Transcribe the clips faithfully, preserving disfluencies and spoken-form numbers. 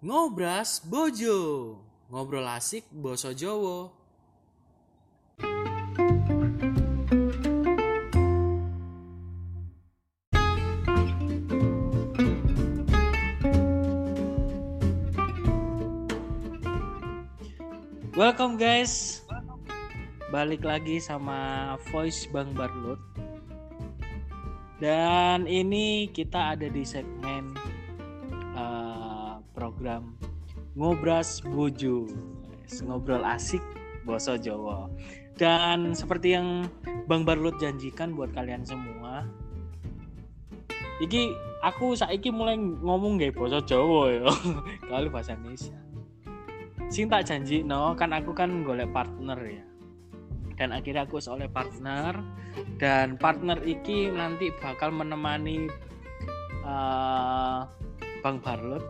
Ngobras Bojo, ngobrol asik basa Jawa. Welcome guys, balik lagi sama Voice Bang Barlut. Dan ini kita ada di segmen uh, program Ngobras Bojo, ngobrol asik basa Jawa. Dan seperti yang Bang Barlut janjikan buat kalian semua, iki aku saiki mulai ngomong gak basa Jawa ya, kalau bahasa Indonesia. Sing tak janji no kan aku kan golek partner ya, dan akhirnya aku oleh partner, dan partner iki nanti bakal menemani uh, Bang Barlut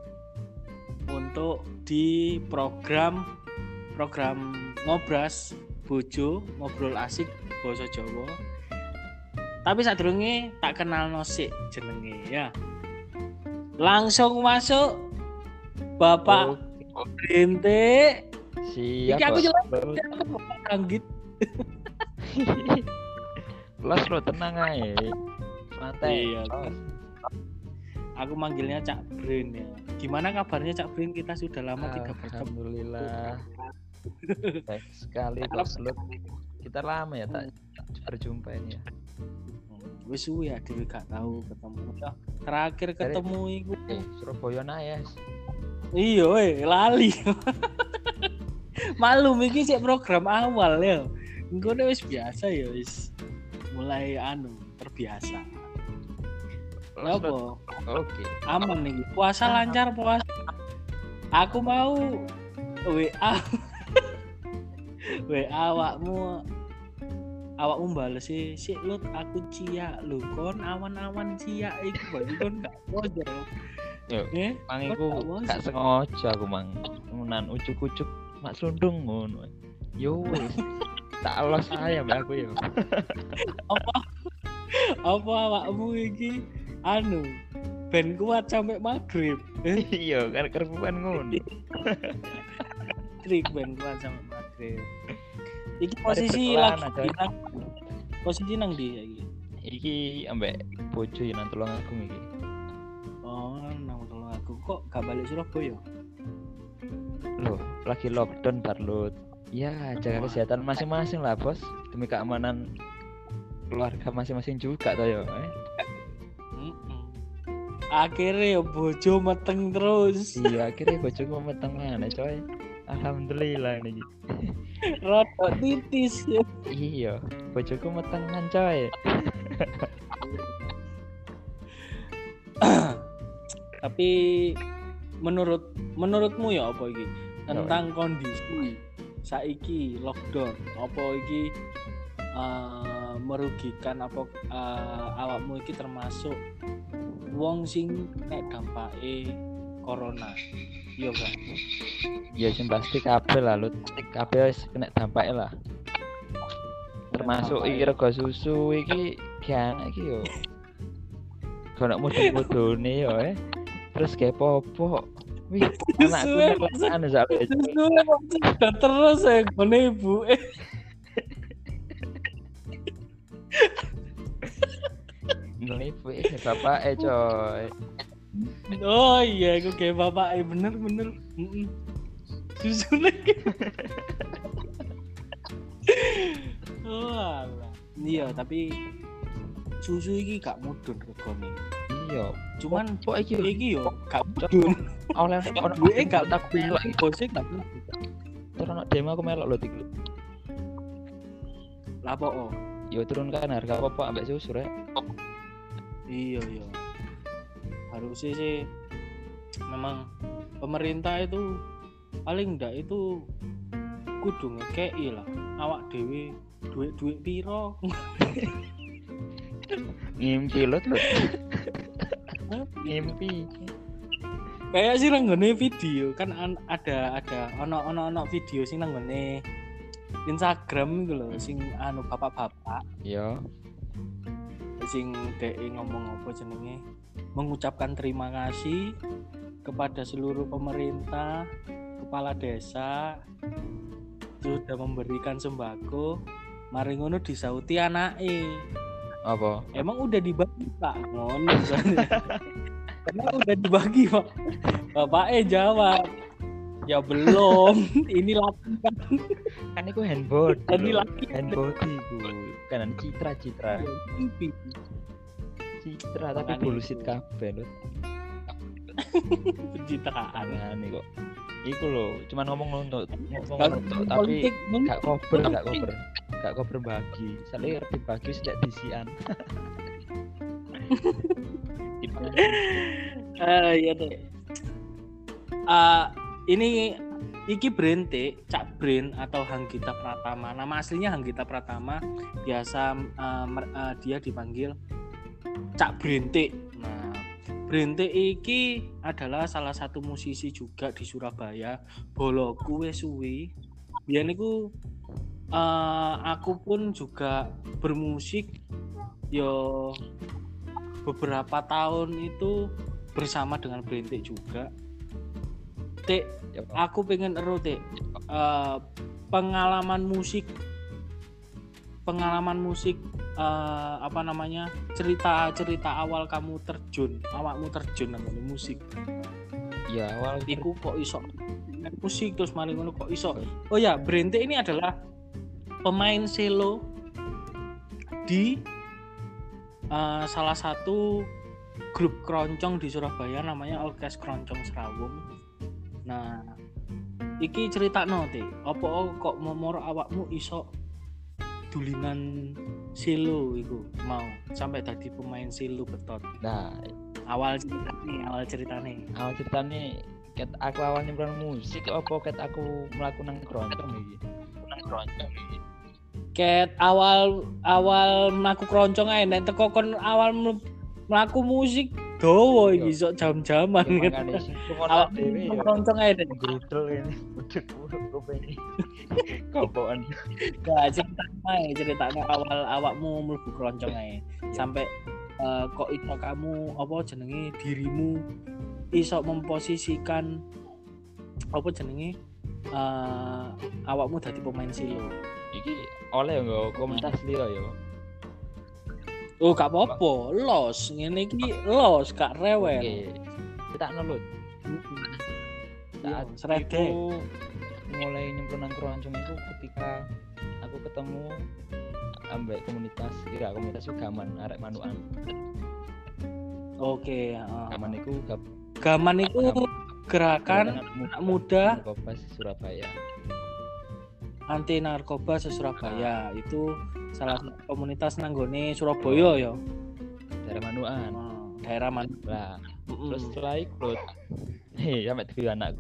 untuk di program program Ngobras Bojo, ngobrol asik basa Jawa. Tapi sadurunge tak kenal nosik jenenge ya. Langsung masuk Bapak oh. Rinte. Siap. Iki aku jelas anggit. Plus lo tenang aja. Santai. Iya. Aku manggilnya Cak Brin ya. Gimana kabarnya Cak Brin? Kita sudah lama tidak bertemu. Alhamdulillah. Baik sekali Plus lo. Kita lama ya tak berjumpa ini ya. Wis suwe ya dhewe gak tahu ketemu. Ya, terakhir ketemu iku eh, Surabaya Nayas. Iya we, lali. Malum iki sik program awal ya. Engko wis biasa ya wis mulai anu terbiasa. Apa? Oke. Aman nih. Puasa lancar puasa. Aku mau W A. W A awakmu awakmu bales sih, sik lut aku ciak lho kon awan-awan ciak iku bae kon gak podo. Yo, eh, mang iku gak sengaja aku mang. Menan ucuk-ucuk mak sundung ngono. Yo wis. Tak los saya mbak aku yo. Apa? Apa awakmu iki anu ben kuat sampai maghrib. Iya, kan kerbuan ngono. Trik ben kuat sampai maghrib. Iki posisi lagi nang posisi nang ndi iki? Iki ambek bojo ya nang Tulungagung iki. Oh, nang Tulungagung kok gak balik Surabaya? Loh, lagi lockdown Barlut. Ya, jaga oh, kesehatan masing-masing lah, Bos. Demi keamanan keluarga masing-masing juga toh ya. Eh? Akhirnya bojo meteng terus. Iya, akhirnya bojoku meteng mana, coy. Alhamdulillah ini. Rodok titis ya. Iya, bojoku metengan, coy. Tapi menurut menurutmu ya apa iki tentang kondisi saiki lockdown, apa iki uh, merugikan apa uh, awakmu iki termasuk wong sing nek dampake corona? Iya kan? Ya sing pasti kabeh lah Lut. Kabeh wis kena dampake lah. Termasuk iki rego susu iki gak iki yo. Kono mudun-mudune yo eh. Terus kayak popok. Wih, anakku nek anu sak sudah terus ya ngene ibu. Ngene ibu eh bapake coy. Oh iya, aku kayak bapak, eh bener-bener. Susu lagi. Oh alah. Iya, tapi susu iki gak mudun regane. Iya, cuman kok iki iki yo gak mudun. Oleh ono duwe gak tak melok bose gak mudun. Terus ono demo aku melok lho iki. Lah apa oh? Yo turunkan harga apa ambek susu rek. Iya iya. Harusnya sih memang pemerintah itu paling enggak itu kudu ngekei lah awak dhewe duit-duit piro. Ngimpi lo tuh. Ngimpi. Kayak sih nanggone video kan an- ada ada ono ono ono video sing nanggone Instagram gitu loh, sing anu bapak-bapak. Iya. Sing dhek ngomong apa jenenge? Mengucapkan terima kasih kepada seluruh pemerintah, kepala desa sudah memberikan sembako, mari ngono disauti anake. Apa? Emang udah dibagi Pak? Ngono. Emang udah dibagi Pak? Bapaknya jawab, ya belum. Ini lakukan. Kan iku handbody. Tadi lho. laki. Handbody iku. Kan citra citra. Mimpi. Citra tapi Makanya bullshit itu. kabeh lho. Pencitraan. Aneh kok. Iku lho, cuman ngomong untuk ngomong Kalau untuk tapi politik gak cover, gak cover. Gak cover bagi. Soalnya dibagi sejak disian. Eh iya deh. Ah, ini iki Brente, Cak Brin atau Hanggita Pratama. Nama aslinya Hanggita Pratama, biasa uh, mer- uh, dia dipanggil Cak Brente. Nah, Brente iki adalah salah satu musisi juga di Surabaya. Boloku wis suwi. Biyen niku uh, aku pun juga bermusik yo beberapa tahun itu bersama dengan Brente juga. Tik, Ya, Pak. aku pengen ero Tik. Uh, pengalaman musik pengalaman musik uh, apa namanya cerita-cerita awal kamu terjun awakmu terjun nang musik Ya awal iku kok iso main musik terus mari ngono kok iso. Oh ya, Brente ini adalah pemain cello di uh, salah satu grup keroncong di Surabaya namanya Orkes Keroncong Serawung. Nah, iki critakno Tik, apa kok momor awakmu iso dulinan cello iku mau sampai tadi pemain cello betot. Nah, Awal ceritane, awal ceritane. awal ceritanya ket aku awal nyemplung musik apa ket aku mlaku nang keroncong iki. Nang keroncong iki. Ket awal awal mlaku keroncong ae nek teko kon awal ml- mlaku musik dawa iki sok jam-jaman. Ya, makanya sing Awak dhewe ya. keroncong ae Dik. Grudel ini. Budek kuping. Kopokan. Gak ceritanya ae, ceritanya awal awakmu mlebu keroncong ae. Sampai eh, kok iso kamu apa jenenge dirimu iso memposisikan apa jenenge eh, awakmu dadi pemain cello. Iki oleh nggo komunitas liya ya. Oh gak apa-apa, los ngene iki los gak rewel. Oke. Kita nulut. Iya, Saat serede. itu mulai nyemplung nang keroncong itu ketika aku ketemu ambek komunitas kira komunitas Gaman arek manukan. Oke, heeh. Gaman iku gab Gaman itu gerakan anak muda Kopas Surabaya. anti narkoba se-Surabaya. Itu salah satu komunitas nanggone Surabaya ya. Daerah manukan. Oh, daerah mana? Lah, Mm-mm. terus setelah ikut hei sampe dhewe anakku.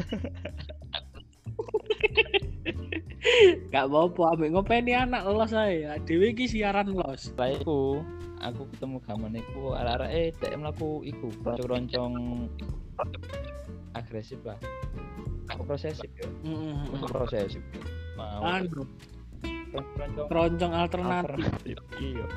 Gak apa-apa, ambek ngopeni anak los ae. Dhewe iki siaran los. Setelah itu aku ketemu Gaman iku arek-arek dek mlaku iku roncong agresif lah. Aku prosesif ya. Heeh. Aku prosesif. Mau Anu, roncong keroncong alternatif. alternatif. Iya.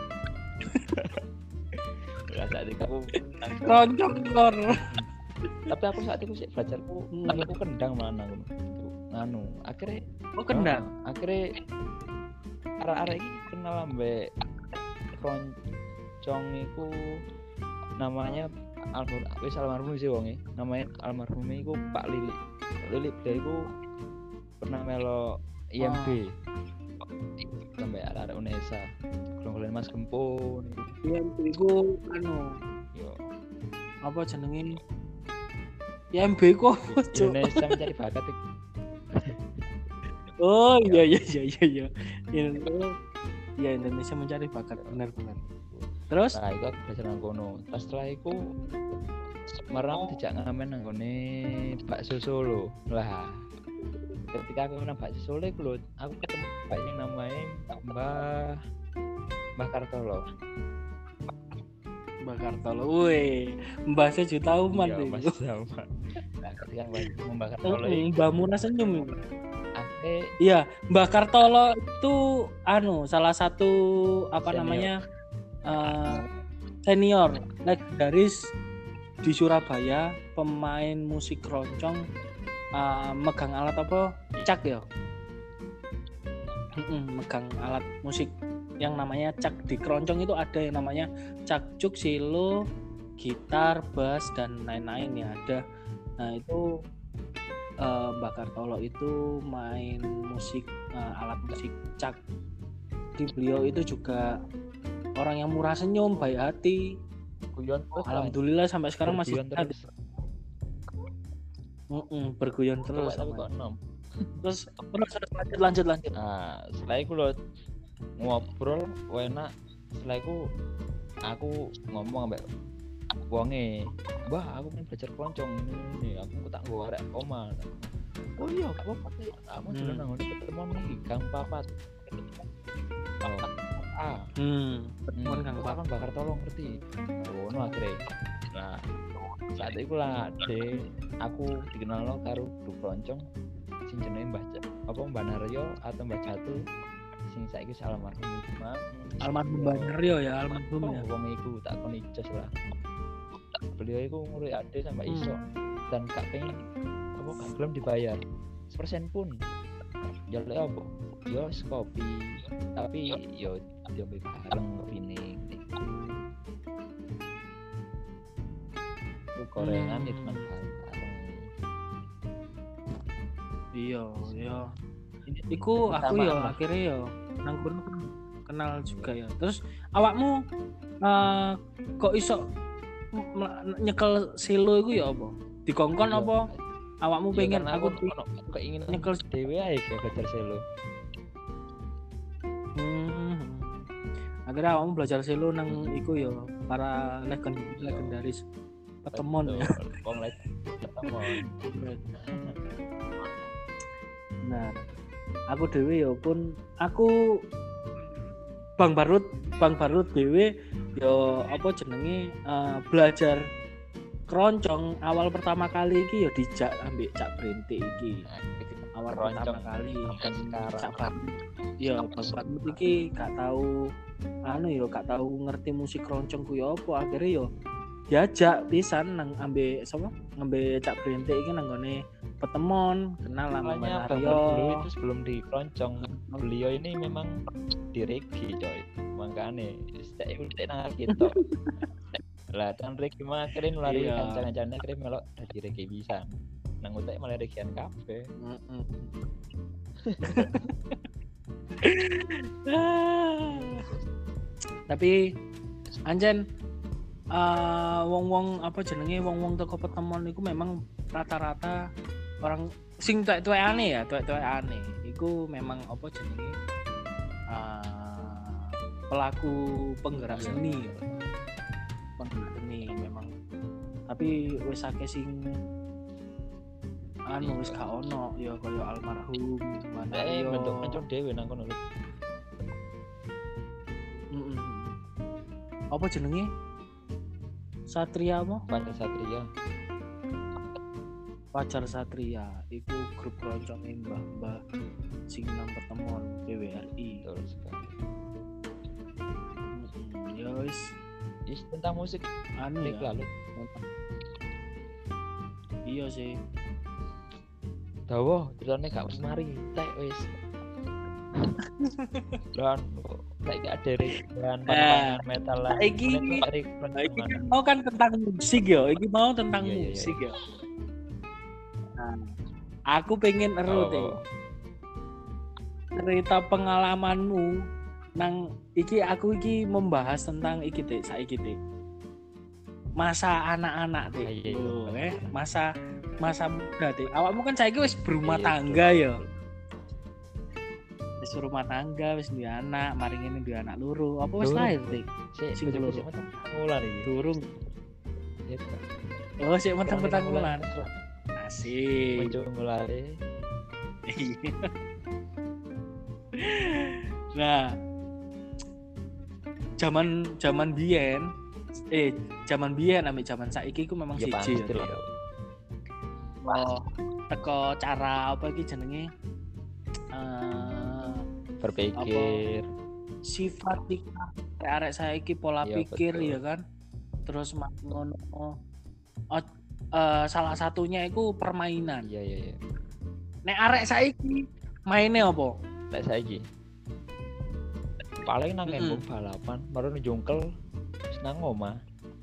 Lah saat itu aku Keroncong kor. tapi aku saat itu sih belajarku Hmm. tapi aku kendang mana ngono. Anu, akhirnya Oh kendang. Ah, akhirnya arek-arek iki kenal ambek keroncong iku namanya almarhum wis almarhum sih wonge namanya almarhum iku Pak Lili. Pak Lili dia iku pernah melo I M B sampai arek-arek Unesa golong-golong Mas Kempun Iya, iku anu, yo apa jenenge? Ya M B kok. Cuk. Indonesia mencari bakat iku. Oh iya iya iya iya iya. In- Iya Indonesia mencari bakat benar-benar. Terus? Nah, itu aku belajar nang kono. Pas setelah itu marang aku dijak ngamen nang kone bakso Solo. Lah, ketika aku nang bakso Solo iku lho, aku ketemu Mbak yang namanya Mbah Mbah Kartolo. Mbak Kartolo. Woi, Mbak sejuta umat Iya, Mas itu. sama. Nah, ketika Mbak Mbah Kartolo Heeh, iki Mbak Muna senyum itu. ake Iya, Mbak Kartolo itu anu salah satu apa Senior. namanya eh, senior legendaris di Surabaya pemain musik keroncong uh, megang alat apa? Cak ya. Mm-mm, megang alat musik yang namanya cak. Di keroncong itu ada yang namanya cakcuk, silo, gitar, bass dan lain-lain ya ada. Nah itu uh, Mbak Kartolo itu main musik uh, alat musik cak. Di beliau itu juga orang yang murah senyum, baik hati. Guyon terus. Alhamdulillah sampai sekarang masih terus. Mm-mm, berguyon terus. Tapi kok nom. Terus terus lanjut lanjut lanjut. Nah, setelah itu lo ngobrol enak. Setelah itu aku ngomong ambek wonge, "Mbah, aku kan belajar keroncong ini, aku tak nggo arek oma." "Oh iya, gak apa-apa. Aku dolan nang ngene ketemuan iki, Gang Papat." Oh. Ah. Hmm, ketemuan Gang Papat bakar tolong ngerti. Ngono akhirnya. Nah, saat itu lah de aku dikenal karo grup keroncong sing jenenge Mbah apa Mbah Naryo atau Mbah Jatuh sing saiki almarhum Imam almarhum Mbah Naryo ya almarhum ya wong iku tak kon ijaz lah beliau iku ngurus ade sampai iso hmm. dan gak pengen apa gak gelem dibayar sepersen pun jaluk apa yo kopi tapi yo yo bareng kopine itu gorengan hmm. itu kan bareng iya iya iku aku ya akhirnya ya nang kono kenal juga ya terus awakmu uh, kok iso nyekel silo iku ya apa dikongkon apa awakmu pengen aku keinginan nyekel dhewe ae belajar silo hmm. akhirnya awakmu belajar silo nang iku ya para legend legendaris petemon ya wong petemon nah aku dhewe ya pun aku Bang Barut Bang Barut dhewe ya apa jenenge uh, belajar keroncong awal pertama kali iki ya dijak ambek Cak Brente iki awal pertama kali Cak Barut ya Bang Barut iki gak tahu anu ya gak tahu ngerti musik keroncong ku ya apa akhirnya ya diajak pisan nang ambek sapa ngambe Cak Brente iki nang gone petemon kenal sama Mbak Naryo itu sebelum di keroncong beliau ini memang di reggae coy makane stek iku tek nang gitu lah kan reggae mah keren lari kancang-kancane keren melok dadi reggae bisa nang utek malah reggaean kafe heeh tapi anjen uh, wong-wong apa jenenge wong-wong teko petemon iku memang rata-rata orang sing tuwek-tuwek aneh ya, tuwek-tuwek aneh. Iku memang apa jenenge uh, pelaku penggerak seni. Penggerak seni memang. Tapi wis akeh sing anu wis gak ono ya kaya almarhum Mbah Naryo. Bentuk kenceng dhewe nang kono. Heeh. Apa jenenge? Satria apa? Pacar Satria. Pacar Satria itu grup keroncong mbah-mbah sing nang petemon P W R I. Betul sekali. Mm-hmm. Ya wis, is tentang musik anu ya. Lalu. Iya sih. Dawa, ceritane gak mari, tek wis. Dan lagi ada dengan pandangan metal lah. Iki mau kan tentang musik ya, iki mau tentang iya, musik iya. ya. Nah, aku pengen ero teh. Oh. Cerita pengalamanmu nang iki aku iki membahas tentang iki teh, saiki teh. Masa anak-anak teh. Iya, oh, eh, masa masa muda teh. Awakmu kan saiki wis berumah iya, tangga betul, ya. Wis rumah tangga, wis duwe anak, mari ngene duwe anak loro. Apa wis lahir teh? Sik loro. Mulan iki. Durung. Oh, sik meteng-meteng mulan. Asik. Muncul mulai. Nah, zaman zaman biyen, eh zaman biyen ambek zaman saiki ku memang ya, siji ya. Oh, teko cara apa iki jenenge? Uh, berpikir. Apa, sifat iki arek saiki pola ya, pikir betul. Ya kan. Terus ngono uh, uh, salah satunya itu permainan. Iya iya iya. Nek arek saiki mainnya apa? Lek saiki paling nang Mm-mm. embung balapan, baru njungkel wis nang omah.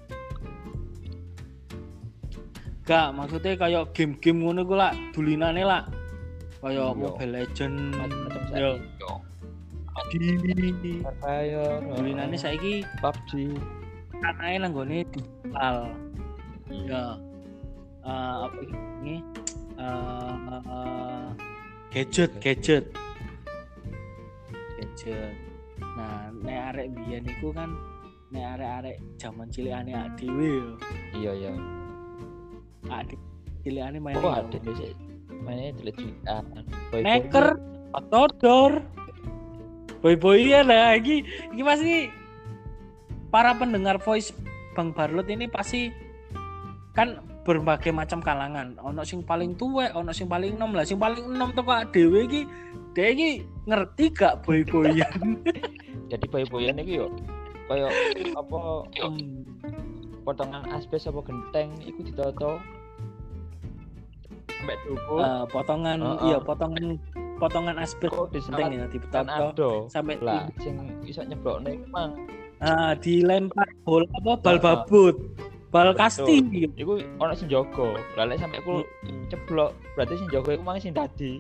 Gak, maksudnya kayak game-game ngono iku lah, dulinane lah. Kayak Iya. Mobile Legend, Macam-macam yo, saiki. di Fire, dulinane saiki P U B G. kanae nanggone digital. Iya. Ya. Eh, apa ini? Eh, eh, gadget, gadget. Gadget. Nah, nek arek biyen iku kan nek arek-arek zaman cilikane ak dhewe yo. Iya iya. Adik cilikane main. Oh ada sih. Mainnya delik-delikan. Neker, Todor, boy-boyan lah. Iki, iki pasti para pendengar voice Bang Barlot ini pasti kan berbagai macam kalangan. Ono sing paling tuwek, ono sing paling enom lah. Sing paling enom teko dhewe iki, dhewe iki ngerti gak boy-boyan? Jadi boy-boyan iki yo koyo apa Hmm. potongan asbes apa genteng iku ditoto sampai dhuwur. Eh, potongan, Oh, oh. iya potongan potongan asbes Kok genteng ya kan dipetoto ado. sampai Lah sing iso nyeblokne iku mang. ah, dilempar bola apa bal Ah, ah. babut, bal Betul. kasti. Iku ono sing jaga. Lah lek sampe aku ceblok, berarti sing jaga iku mang sing dadi.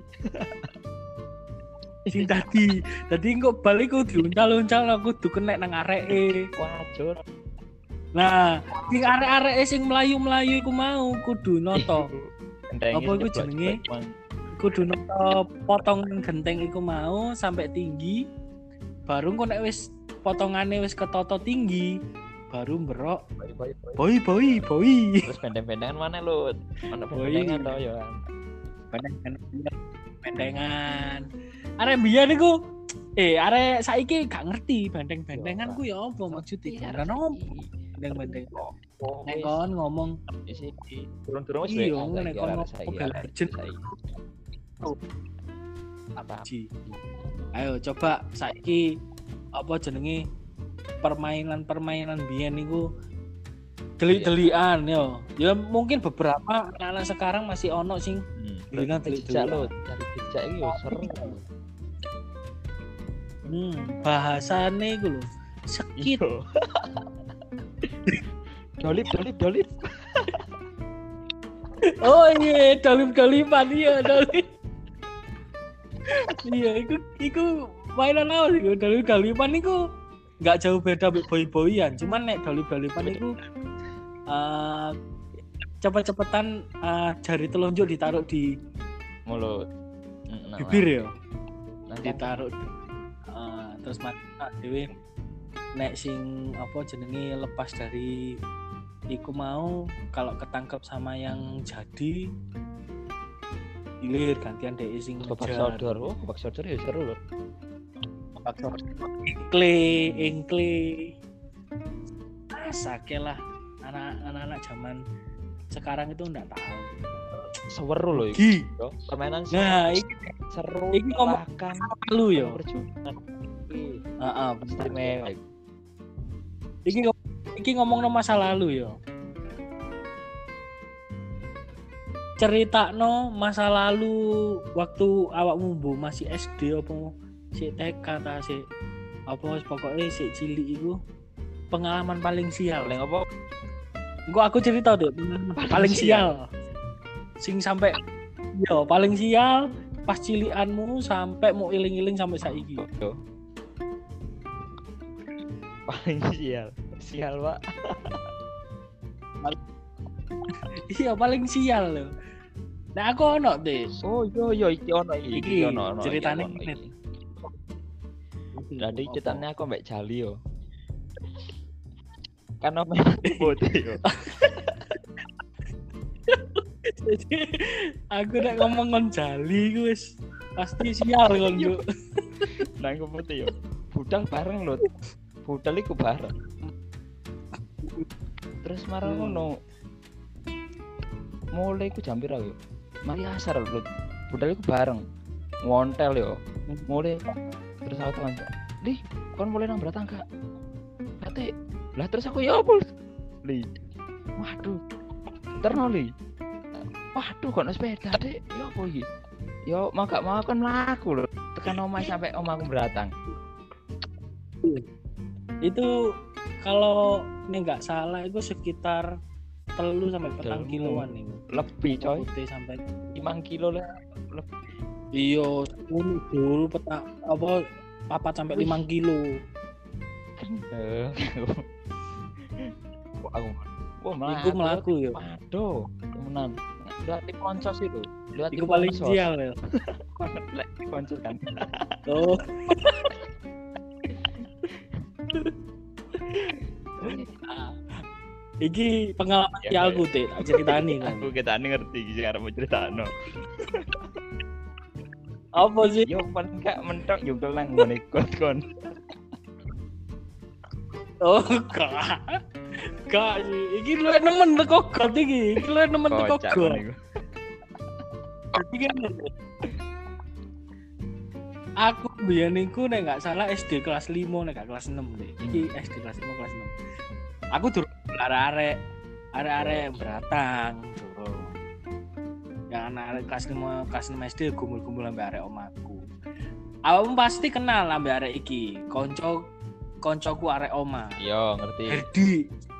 Sing tadi tadi kok balik ku diuncal-uncal aku kudu kena nang areke. Wajur. Nah, sing arek-areke sing melayu-melayu iku mau kudu noto. Gentenge Apa iku nyeblok- jenenge? nyeblok, Mang. Kudu noto potongan genteng iku mau sampai tinggi. Baru kok nek wis potongane wis ketoto tinggi, baru berok Boy, boy, boy. boy boy boy. Terus bendeng-bendengan mana lu? Ono Boy. bendengan to ya. Bendengan. Arek biyen iku eh arek saiki gak ngerti bendeng-bendengan ku ya apa maksudnya? Karena opo bendeng-bendeng. Oh, Nek kon ngomong isi turun-turun wis Iya, W A nek saiki, kon arek ngomong saiki, Mobile arek Legends. saiki. Apa? Ji. Ayo coba saiki apa jenenge permainan-permainan biyen niku delik-delikan yo. Ya mungkin beberapa anak-anak sekarang masih ono sing Hmm. Dilihat, Cari dilihat. jejak lo, cari jejak iki yo seru. hmm, bahasane iku lho sekit. Iya. Dolip, dolip, dolip. Oh iya, dolip-dolipan iya dolip. Iya, iku iku mainan apa sih? Dolip-dolipan iku nggak jauh beda mbek boy-boyan, cuman nek dolip-dolipan iku eh cepet-cepetan eh, jari telunjuk ditaruh di Mulut. Mm, nah, bibir ya, nah, ditaruh eh, terus mata dhewe nek sing apa jenenge lepas dari iku mau kalau ketangkep sama yang jadi hilir gantian dek sing babak ngejar. sodor. Oh, babak sodor ya seru loh. Engkle, engkle. Asake lah anak-anak zaman sekarang itu enggak tahu. Seru loh iki. Gi. Yo, permainan Nah, iki seru. iki ngomong- melelahkan, lu yo. perjuangan. Iki Heeh, istimewa. iki ngom- iki ngomongno masa lalu yo. Ceritakno masa lalu waktu awakmu mbo masih S D apa sik T K ta sik apa wis pokoke sik cilik iku pengalaman paling sial. Paling apa? Engko aku cerita deh pengalaman Paling paling sial. sial. Sing sampai yo paling sial pas cilikanmu sampai mau iling-iling sampai saiki. Yo. Paling sial. Sial, Pak. Iya paling sial loh. Nah aku ono deh. Oh, yo yo iki ono iki. Iki ono ono. ceritane iki, ono ngene. iki. Jadi ceritanya aku mbak Jali yo. Kan ono putih yo. Jadi aku nek ngomong ngon jali ku wis pasti sial kon Juk. Nang putih yo. Budal bareng lho. Budal iku bareng. Terus marang Hmm. ngono. Mulai ku jam pira yo? Mari asar lho. Budal iku bareng. Ngontel yo. Mulai terus aku teman. Li, kon mulai nang berat tangga. Berarti lah terus aku ya apa? Li. Waduh. terno li. Waduh kok ono sepeda Dik. Ya apa iki? Yo mau gak mau kan mlaku lho. Tekan omah sampai omahku beratang. Itu kalau ini nggak salah itu sekitar telu sampai petang Telu. kiloan nih. Lebih coy. Putih sampai lima kilo lah. Lebih. iya sepuluh dulu peta apa papat sampai Wih. lima kilo. Eh. Kok aku Wah, melaku. Iku melaku ya. Waduh, temenan. Lihat di konco sih tuh. Lihat di Iku paling konco. sial ya. Lihat di konco kan. Oh. Iki pengalaman Ya, ya, aku teh, tak ceritani kan. Aku kita ngerti sih karena mau ceritano. Apa sih? Yo paling gak mentok yo kelang ngene kon-kon. Oh, gak. Gak sih. Iki lu nemen teko got iki. Iki lu nemen teko Kocak got. niku. Iki kan aku biyen niku nek gak salah S D kelas lima nek gak kelas enam deh. Iki S D kelas lima kelas enam. Aku durung arek-arek arek-arek beratang durung. Yang anak arek kelas lima kelas enam S D gumul-gumul ambek arek omaku. Awakmu pasti kenal ambek arek iki. Konco koncoku arek oma. Yo ngerti. Herdi.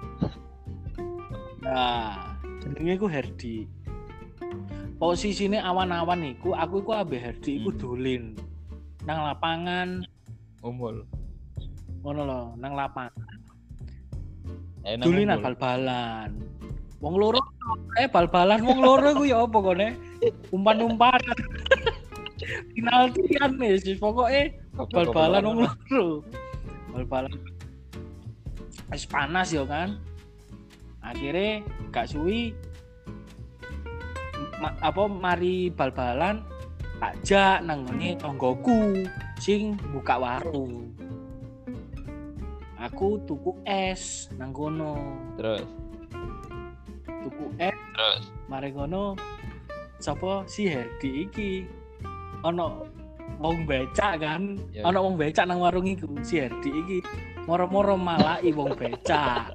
Nah, jenenge ku Herdi. Posisine awan-awan iku, aku iku ambek Herdi iku Hmm. dolen nang lapangan Umul. ngono lho, nang lapangan. Enak. Dolinan bal-balan. Wong loro eh bal-balan wong loro iku ya apa kone? Umpan-umpanan. Penaltian wis pokoke bal-balan wong loro. Bal-balan. Wis panas ya kan. Akhirnya gak suwi ma- apa mari bal-balan takjak nang ngene tonggoku sing buka warung. Aku tuku es nang kono. Terus. Tuku es Terus. mari kono sapa si Herdi iki ono wong becak kan, Ya. ono wong becak nang warung iku. Si Herdi iki moro-moro malai wong becak.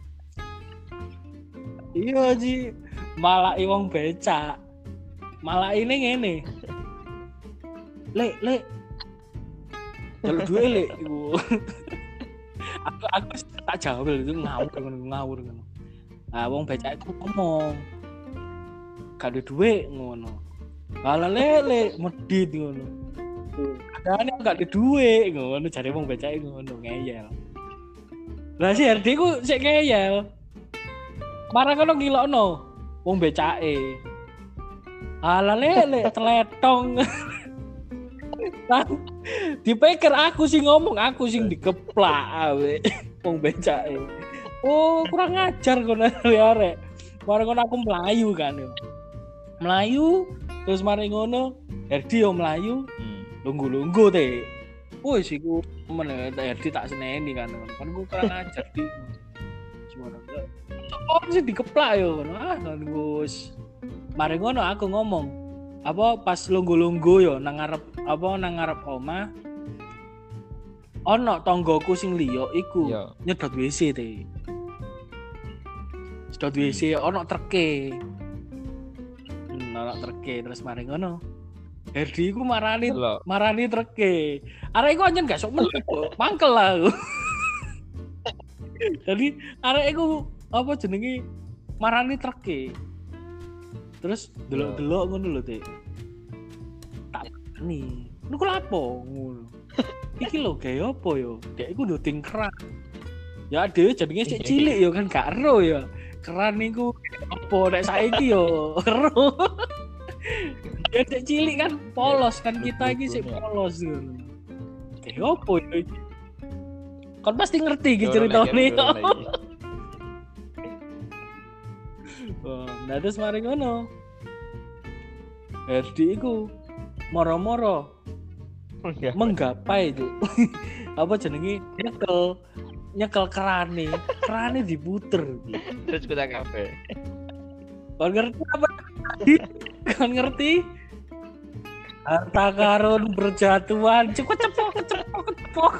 Iya Ji, malai wong becak. Malai ini ngene. Lek, lek. Jaluk duwe lek iku. aku aku tak jawab itu ngawur ngono ngawur ngono. Nah, wong becak iku ngomong. Gak ada duit ngono. Ala lele medit ngono. Kadane gak ada duit ngono jare wong becake ngono ngeyel. Lah si Herdi ku sik ngeyel. Marang kono ngilokno wong becake. Ala lele teletong. Lah dipikir aku sing ngomong, aku sing dikeplak awe wong becake. Oh, kurang ajar kono arek. Marang kono aku melayu kan yo. Melayu terus mari ngono Herdi yo melayu Hmm. lunggu-lunggu teh. Wis iku men Herdi tak seneni kan. Kan ku kurang ajar di. Cuma oh sih dikeplak yo ngono. Ah kan Gus. Mari ngono aku ngomong apa pas lunggu-lunggu yo nang ngarep apa nang ngarep omah ono tonggoku sing liya iku Yo. nyedot W C teh. Nyedot W C ono treke. Hmm, ono treke terus mari ngono. Herdi iku marani Delok. marani treke. Arek iku anjen gak sok meneh kok. Mangkel lah. aku. Jadi arek iku apa jenenge marani treke. Terus delok-delok ngono lho, Dik. Tak nih. Niku lapo ngono. Iki lho gawe apa yo? Dek iku nduding keran. Ya dhewe jenenge sik cilik yo kan gak ero ya. Keran niku apa nek saiki yo ero. Ya sik cilik kan polos kan kita iki sik polos ngono. Gawe apa yo iki? Kon pasti ngerti iki ceritane. Oh, nah terus mari ngono. Herdi iku moro-moro menggapai itu apa jenenge nyekel nyekel kerane kerane diputer Terus kita kafe. kon ngerti apa kon ngerti harta karun berjatuhan cepet cepok cepok cepok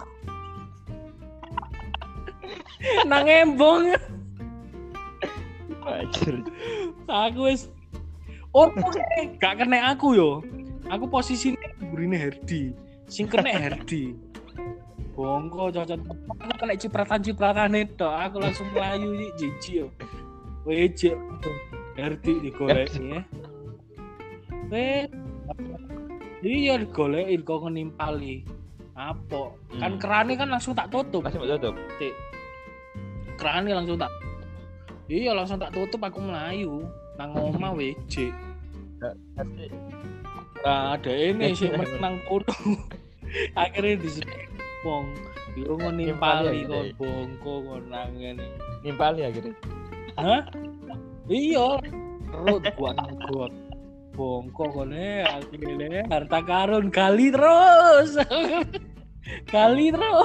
nang embong Wajar. Aku wis oh oke, gak kena aku yo. Aku posisinya burine Herdi. Sing kena Herdi. Bongko cocok aku kena cipratan-cipratan itu. Aku langsung melayu iki jiji yo. Wejek Herdi digoleki ya. Weh. Iya digoleki kok ngenimpali. Apa? Kan Hmm. kerane kan langsung tak tutup. Masih mau tutup. Tik. Kerane langsung tak. Iya langsung tak tutup aku melayu. Nang omah wejek. Tapi Nah, ada ini sih menang kudu. Akhirnya disebut wong yo ngenimpali Nimpali kon ya, bongko kon nang ngene. nimpali akhirnya. Hah? Iya. Perut gua gua bongko kone akhirnya harta karun kali terus. Kali terus.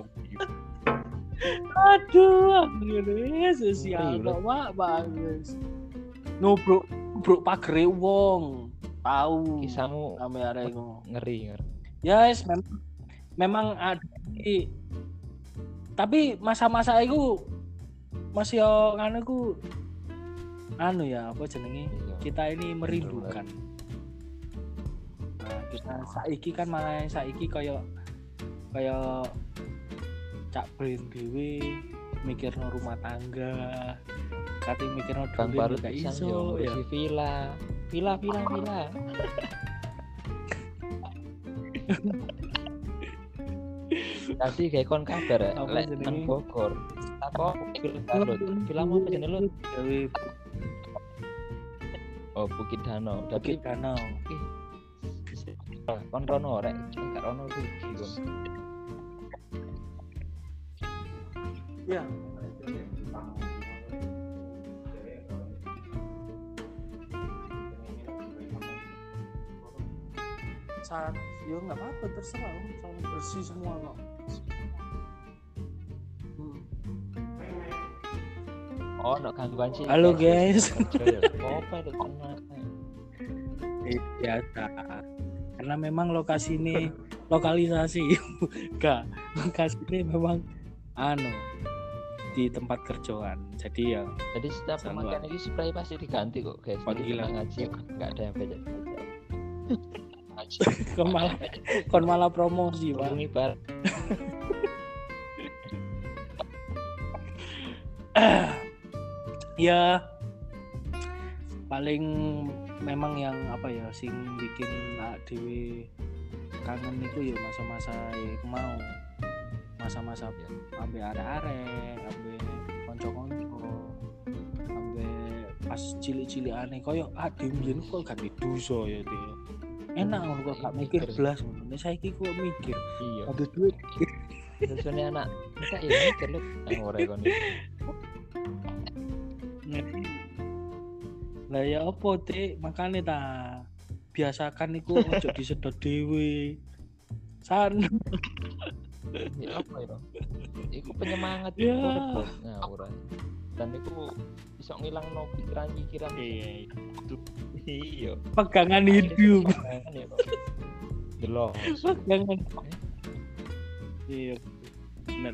Aduh, akhirnya sosial kok Pak bagus. Nubruk nubruk pagere wong. Tahu. Kisahmu Sampai arek ngono. ngeri ngeri. Ya yes, memang memang ada i- tapi masa-masa itu masih yo anu ku anu ya apa jenenge Iya. kita ini merindukan. Nah, kita saiki kan malah saiki kaya kaya cak brain dhewe mikirno rumah tangga. Kate mikirno Bang duit baru gak pisan iso yo ya. ngurusi villa. Villa villa villa. Tadi kayak kon kabar ya, Apa lek jenenge? nang Bogor. Apa villa baru? Villa apa jenenge lu? Gawe Oh, Bukit Danau. Bukit Tapi Danau. kon rono rek, gak rono rugi kon. Ya. Saat yo nggak apa-apa terserah om, sama bersih semua kok. Hmm. Oh, no gangguan sih. Halo, guys. Apa itu tenang. Biasa. Karena memang lokasi ini lokalisasi, enggak lokasi ini memang anu di tempat kerjaan. Jadi ya Jadi setiap Sama. pemakaian ini spray pasti diganti kok, guys. Jadi Panggilan. tenang aja, nggak ada yang beda. kon malah kon malah promosi pak. Hubungi bar. Ya paling memang yang apa ya sing bikin awak dhewe kangen itu ya masa-masa ya mau masa-masa ambe arek-arek ambe kanca-kanca ambe pas cilik-cilikane koyo ade mbiyen kok gak dosa ya Dik. Enak ngono kok gak mikir blas ngono. Nek saiki kok mikir Iya. ada duit Terusnya anak kita ya mikir lu nang ora kon. lah ya apa Dik makane ta biasakan iku ojo disedot dhewe san Ya apa itu? Iku penyemangat Ya. urip ngawur. Dan iku bisa ngilangno pikiran-pikiran. iya Iya. pegangan hidup Delok. pegangan iya bener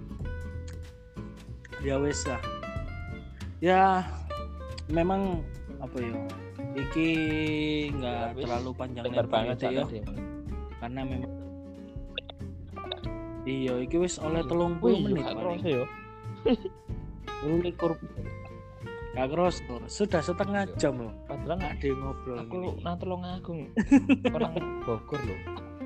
ya wes lah ya memang apa ya iki nggak Wis, terlalu panjang Lebar banget ya ya. karena memang iya iki wis oleh Iya. telung Wih, puluh menit gak paling kerasa ya. likur gak keros loh. Sudah setengah Iya. jam loh Padahal nggak ada yang ngobrol aku gini. nang Tulungagung. Orang Bogor loh.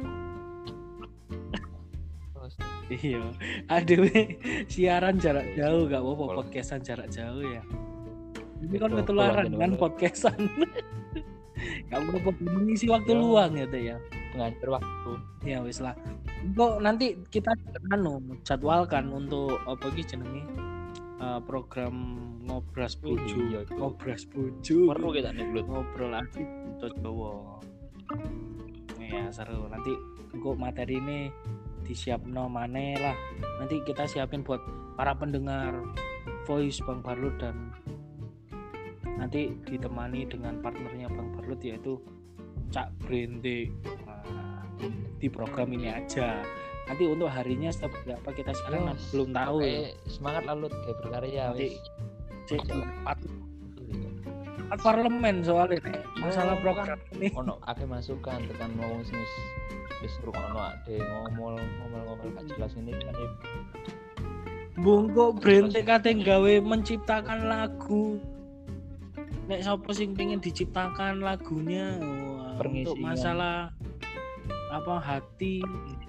Terus Iya ada we, siaran jarak jauh gak apa-apa Kalau- podcastan jarak jauh ya ini kan Betul, ketularan betul, kan betul. podcastan gak apa-apa mengisi waktu Ya. luang gitu ya pengajar waktu. ya wis lah kok nanti kita anu jadwalkan untuk apa iki jenenge eh, program ngobras Wih, bojo iya, itu. ngobras bojo Perlu kita nih Blut. ngobrol asik untuk Jawa ya seru nanti kok materi ini disiapno maneh lah nanti kita siapin buat para pendengar voice Bang Barlut dan nanti ditemani dengan partnernya Bang Barlut yaitu Cak Brente. Nah, di program ini aja nanti untuk harinya seperti apa kita sekarang Yes. belum tahu ya. Oke, semangat lalu kayak berkarya Nanti wis. cek empat rapat parlemen soalnya nek masalah Oh, program kan ini. ono akeh masukan tekan wong sing wis wis ngrungokno ade ngomong ngomel-ngomel gak jelas ini kan ya. Bungkuk Brente kate gawe menciptakan lagu. Nek sapa sing pengen diciptakan lagunya wah, untuk Pengisian. masalah apa hati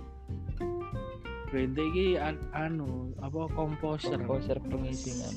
Brente iki an- anu apa komposer. komposer pengisingan.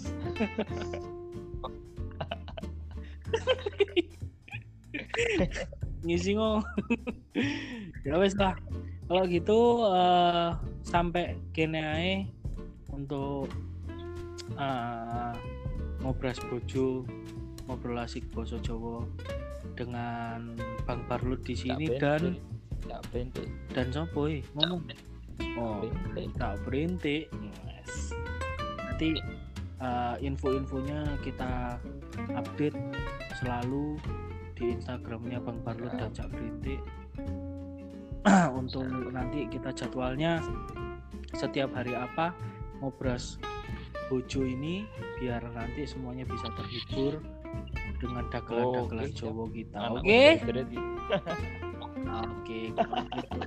Ngisi ngomong. Ya wes lah. Kalau gitu eh, sampai kene ae untuk eh, ngobras bojo ngobrol asik basa Jawa dengan Bang Barlut di sini dan tak bente. dan sopo eh, ngomong oh Bente. tak berintik. Yes. Nanti eh, info-infonya kita update selalu di Instagramnya Bang Barlut dan Cak Berintik. Untuk nanti kita jadwalnya setiap hari apa ngobras bojo ini biar nanti semuanya bisa terhibur dengan dagelan-dagelan Oh, oke, Jawa kita. Anak Oke. berarti. Oke, kalau gitu.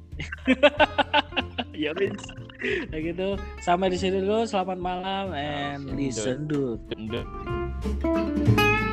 Ya wis. Nah gitu. Sampai di sini dulu. Selamat malam and Listen, listen dude. Bende.